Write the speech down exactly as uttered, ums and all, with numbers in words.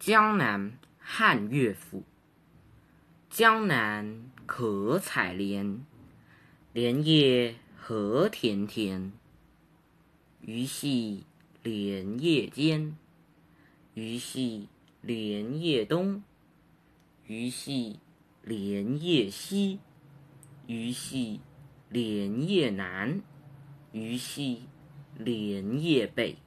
江南汉乐府。江南可采莲，莲叶何田田。鱼戏莲叶间，鱼戏莲叶东。鱼戏莲叶西，鱼戏莲叶南。鱼戏莲叶北。